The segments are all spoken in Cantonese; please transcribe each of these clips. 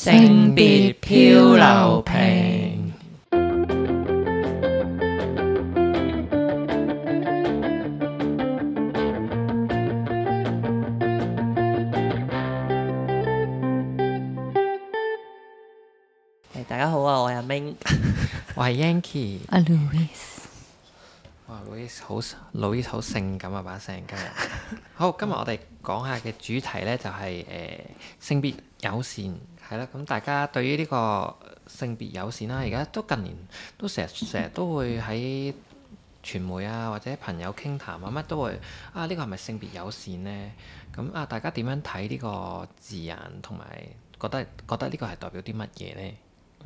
性別漂流瓶。 大家好啊，我係阿 Ming， 我係 Yanky。 阿 Louis， 哇，Louis 好性感啊把聲今日。好，今日我哋講下嘅主題呢就係、性別友善係啦。咁大家對於呢個性別友善啦，而家都近年都成日都會喺傳媒啊或者朋友傾談啊乜都會呢個係咪性別友善呢？咁大家點樣睇呢個字眼，同埋覺得呢個係代表啲乜嘢呢？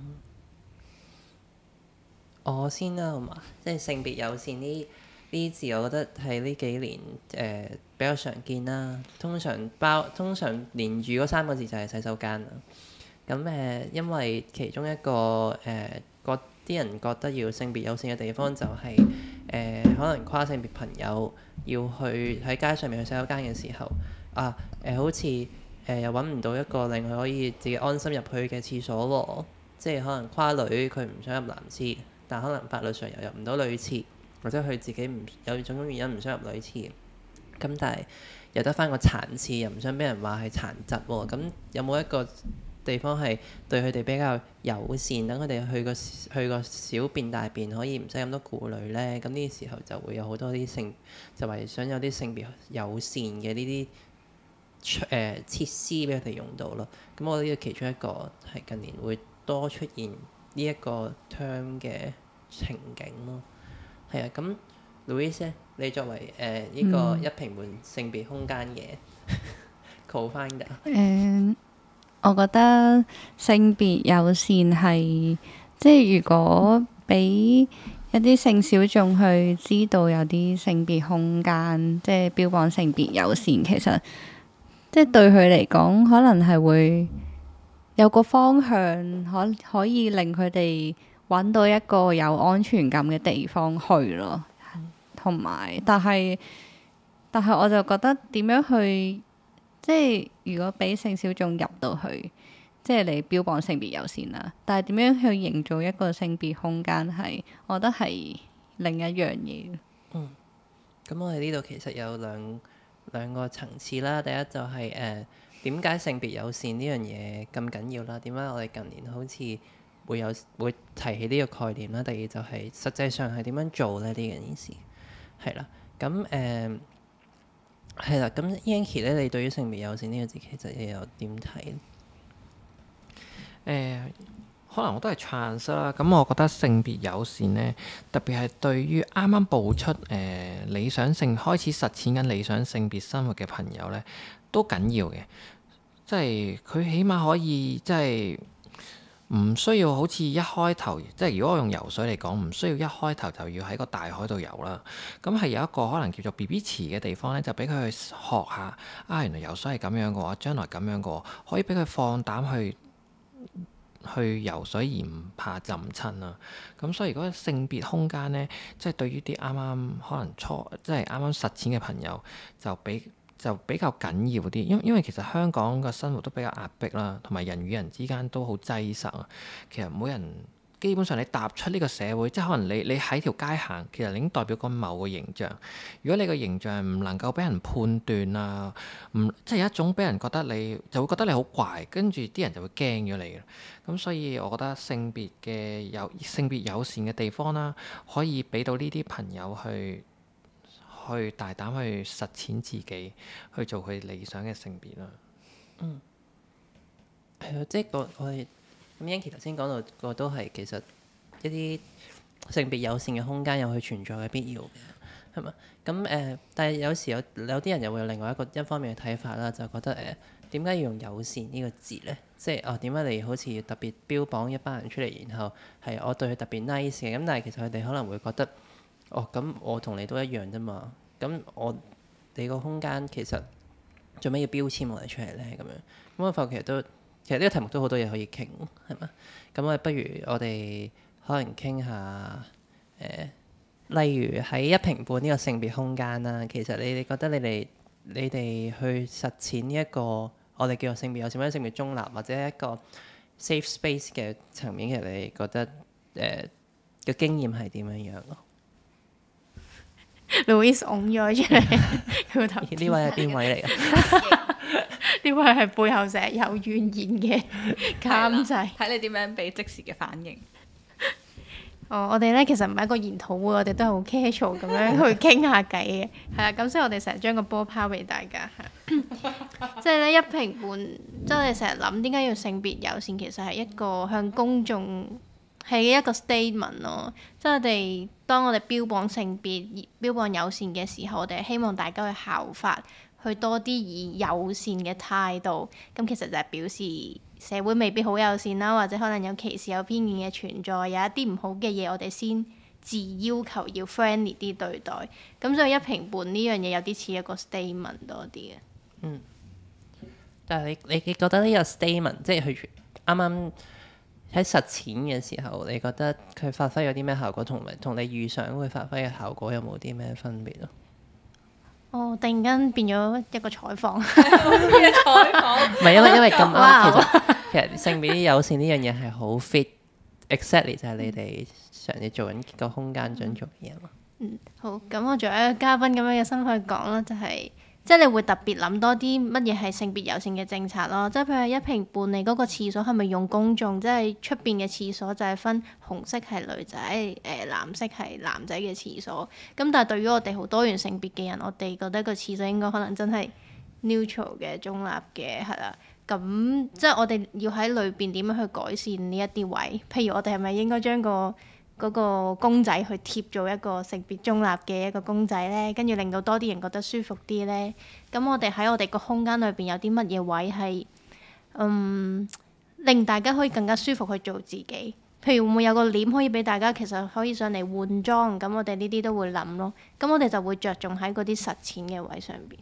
我先啦，好嘛？即係性別友善呢啲字，我覺得係呢幾年比較常見啦。通常連住嗰3個字就係洗手間啦。咁因為其中一個啲人覺得要性別友善嘅地方就係、可能跨性別朋友要去喺街上面去洗手間嘅時候好似又揾唔到一個令佢可以自己安心入去嘅廁所喎。即係可能跨女佢唔想入男廁，但可能法律上又入唔到女廁，或者佢自己有種原因唔想入女廁，咁但係又得翻個殘廁，又唔想俾人話係殘疾喎。咁有冇一個地方係對佢哋比較友善，等佢哋去個小便大便可以唔使咁多顧慮呢？咁呢時候就會有好多啲就係想有啲性別友善嘅呢啲設施俾佢哋用到咯。咁我覺得呢個其中一個係近年會多出現呢一個 term 嘅情景咯。係啊，咁 Louis 咧，你作為呢個一平半性別空間嘅 co-founder， 我覺得性別友善係即係如果俾一啲性小眾去知道有啲性別空間，即係標榜性別友善，其實即係對佢嚟講，可能係會有個方向，可以令佢哋揾到一個有安全感嘅地方去咯。同埋，但係我就覺得點樣去，即係如果俾性小眾入到去，即係你標榜性別友善啦，但係點樣去營造一個性別空間係，我覺得係另一樣嘢。 咁我哋呢度其實有兩個層次啦。第一就係點解性別友善呢樣嘢咁緊要啦？點解我哋近年好似會提起呢個概念啦？第二就係實際上係點樣做咧？呢件事係啦。咁係啦。咁 Yanky 咧，你對於性別友善呢個字其實又有點睇？ 可能我都係 trans 啦，咁我覺得性別友善呢，特別係對於啱啱步出開始實踐緊理想性別生活嘅朋友呢，都緊要嘅。即係佢起碼可以即係唔需要好似一開頭，即係如果我用游水嚟講，唔需要一開頭就要喺個大海度游啦。咁係有一個可能叫做 BB 池嘅地方呢，就俾佢去學下原來游水係咁樣嘅喎，將來咁樣嘅喎，可以俾佢放膽去游水而唔怕浸親啊！咁所以如果性別空間呢，即係對於啲啱啱可能即係啱啱實踐嘅朋友，就比較緊要啲，因為其實香港嘅生活都比較壓迫啦，同埋人與人之間都好擠塞啊。其實每人基本上你踏出呢個社會，即係可能你喺條街行，其實你已經代表緊某個形象。如果你個形象唔能夠俾人判斷啊，即係有一種俾人覺得你就會覺得你好怪，跟住啲人就會驚咗你嘅。咁所以我覺得性別友善嘅地方啦，可以俾到呢啲朋友去大膽去實踐自己，去做佢理想嘅性別啦。 係啊，即係我哋咁 Yanky 頭先講到個都係其實一啲性別友善嘅空間有佢存在嘅必要嘅，係嘛？咁但係有時有啲人又會有另外一方面嘅睇法啦，就覺得點解要用友善呢個字咧？即係點解你好似要特別標榜一班人出嚟，然後係我對佢特別 nice 嘅？咁但係其實佢哋可能會覺得咁我同你都一樣啫嘛。咁你個空間其實做咩要標籤我哋出嚟咧？咁樣咁我發覺其實呢個題目都好多嘢可以傾，係嘛？咁不如我哋可能傾下例如喺一平半呢個性別空間啦。其實你哋覺得你哋去實踐呢一個我哋叫做性別友善或者性別中立，或者一個 safe space 嘅層面，其實你覺得嘅經驗係點樣樣咯？ Louise 擁咗出嚟，佢個頭呢位係邊位嚟㗎？ 呢位係背後成日有怨言嘅監製。 睇你點樣俾即時嘅反應。 我哋咧其實唔係一個研討會，我哋都係好 casual 咁樣去傾下偈嘅，係啦。咁所以我哋成日將個波拋俾大家，即係咧一評半，即係我哋成日諗點解要性別友善，其實係一個向公眾係一個 statement 咯。即係當我哋標榜性別、標榜友善嘅時候，我哋係希望大家去效法，去多啲以友善嘅態度。咁其實就係表示社會未必好友善啦，或者可能有歧視、有偏見嘅存在，有一啲唔好嘅嘢，我哋先自要求要 friendly 啲對待。咁所以一評半呢樣嘢有啲似一個 statement 多啲嘅。 但係你覺得呢個 statement 即係佢啱啱喺實踐嘅時候，你覺得佢發揮咗啲咩效果，同你預想會發揮嘅效果有冇啲咩分別咯？ 突然間變咗一個採訪。 唔係因為咁啱， 哇其實性別友善呢樣嘢係好 fit，exactly 就係你哋嘗試做緊個空間想做嘅嘢咯。 好，咁我作為一個嘉賓咁樣嘅身份去講啦，就係即係你會特別諗多啲乜嘢係性別友善嘅政策咯。即係譬如一評半，你嗰個廁所係咪用公眾？即係出邊嘅廁所就係分紅色係女仔，藍色係男仔嘅廁所。咁但係對於我哋好多元性別嘅人，我哋覺得個廁所應該可能真係 neutral 嘅、中立嘅，係啦。咁即係我哋要喺裏邊點樣去改善呢一啲位？譬如我哋係咪應該將嗰個公仔去貼做一個性別中立嘅一個公仔呢？跟住令到多啲人覺得舒服啲呢？咁我哋喺我哋個空間裏邊有啲乜嘢位係令大家可以更加舒服去做自己？譬如會唔會有個簾可以俾大家其實可以上嚟換裝？咁我哋呢啲都會諗咯。咁我哋就會着重喺嗰啲實踐嘅位上邊。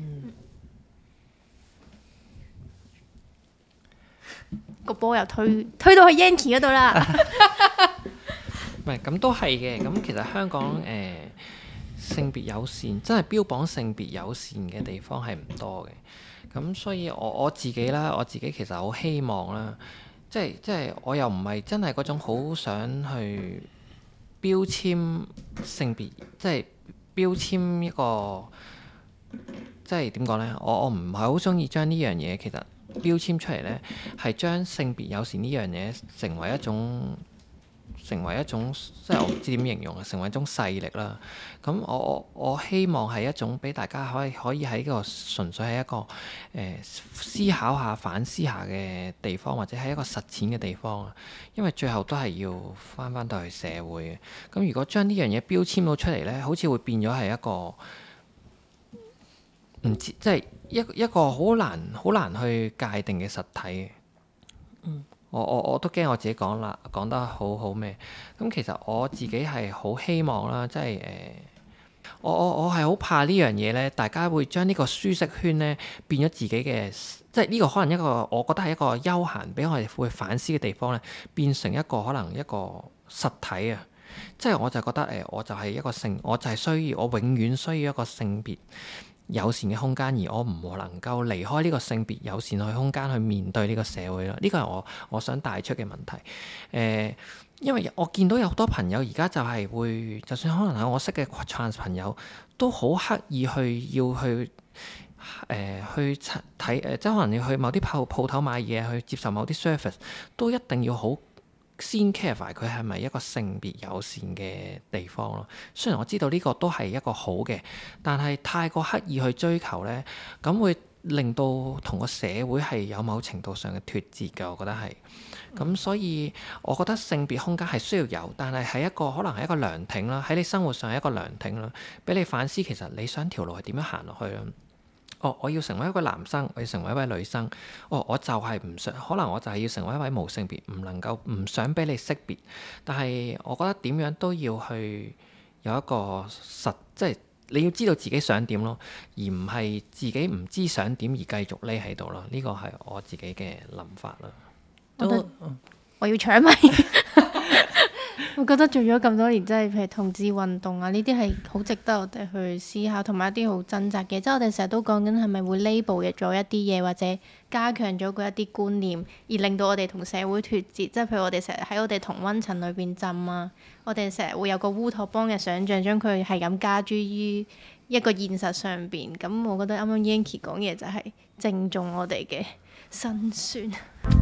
個波又推到去 Yancy 嗰度啦。 唔係咁都係嘅。咁其實香港性別友善，真係標榜性別友善嘅地方係唔多嘅。咁所以我自己啦，我自己其實好希望啦，即係我又唔係真係嗰種好想去標籤性別，即係標籤一個，即係點講呢？我唔係好中意將呢樣嘢其實標籤出嚟呢，係將性別友善呢樣嘢成為一種，即係我唔知點形容啊，成為一種勢力啦。咁我希望係一種俾大家可以喺個純粹係一個思考下、反思下嘅地方，或者係一個實踐嘅地方。因為最後都係要翻到去社會嘅。咁如果將呢樣嘢標籤到出嚟呢，好似會變咗係一個唔知，即係一個好難去界定嘅實體。我都驚我自己講得好咩？咁其實我自己係好希望啦，即係我係好怕呢樣嘢咧，大家會將呢個舒適圈咧變咗自己嘅，即係呢個可能一個我覺得係一個休閒俾我哋會反思嘅地方咧，變成一個可能一個實體啊！即係我就覺得我就係一個我就係我永遠需要一個性別友善嘅空間，而我唔能夠離開呢個性別友善嘅空間去面對呢個社會咯。呢個係我想帶出嘅問題。因為我見到有好多朋友而家就係會，就算可能係我識嘅 trans 朋友，都好刻意要去睇即係可能要去某啲鋪頭買嘢，去接受某啲 service，都一定要好先 clarify 佢係咪一個性別友善嘅地方咯。雖然我知道呢個都係一個好嘅，但係太過刻意去追求呢，咁會令到同個社會係有某程度上嘅脫節嘅。我覺得係咁，所以我覺得性別空間係需要有，但係係一個可能係一個涼亭啦，喺你生活上係一個涼亭啦，俾你反思其實你想條路係點樣行落去啦。我要成為一個男生，我要成為一位女生。我就係唔想，可能我就係要成為一位無性別，唔想俾你識別。但係我覺得點樣都要去有一個即係你要知道自己想點咯，而唔係自己唔知想點而繼續匿喺度咯。呢個係我自己嘅諗法啦。 我要搶咪。 我覺得做咗咁多年，真係譬如同志運動啊，呢啲係好值得我哋去思考，同埋一啲好掙扎嘅。即係我哋成日都講緊係咪會 label 咗一啲嘢，或者加強咗嗰一啲觀念，而令到我哋同社會脫節。即係譬如我哋成日喺我哋同溫層裏邊浸啊，我哋成日會有個烏托邦嘅想像，將佢係咁加諸於一個現實上邊。咁我覺得啱啱 Yanky 講嘢就係正中我哋嘅辛酸。